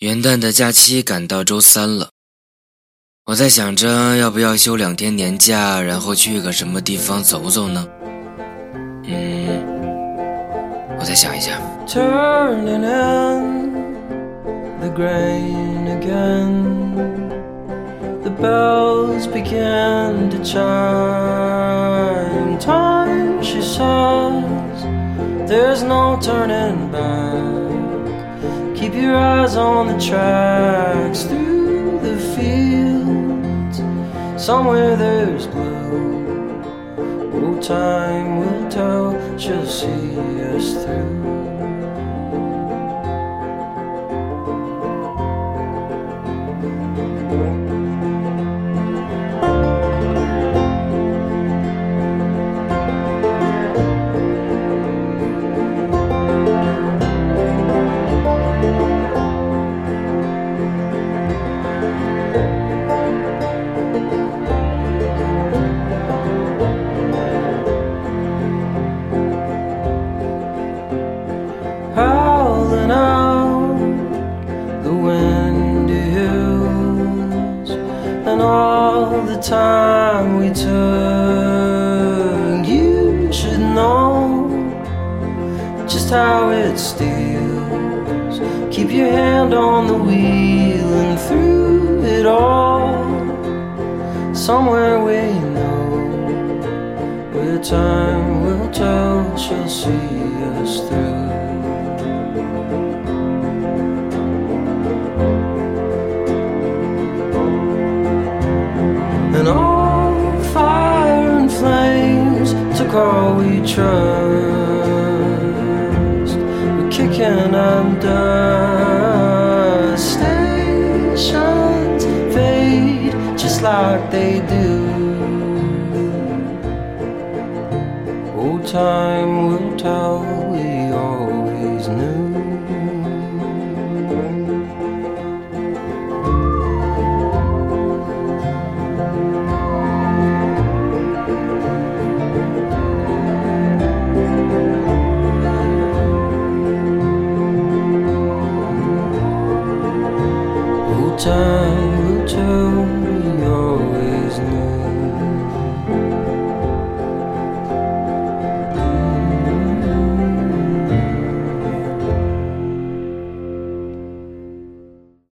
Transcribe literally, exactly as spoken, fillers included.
元旦的假期赶到周三了，我在想着要不要休两天年假，然后去个什么地方走走呢？嗯，我再想一下。 Turning in the grain again, the bells begin to chime. Time, she says, there's no turning back. Keep your eyes on the tracks through the fields. Somewhere there's blue. Oh, time will tell, she'll see us through. Howling out the windy hills, and all the time we took. You should know just how it steals. Keep your hand on the wheel, and through it all, somewhere we know, where time will tell, she'll see us through. And all fire and flames took all we trust. We're kicking up dust. Stations fade just like they do. Oh, time will tell, we always knew. Time will tell.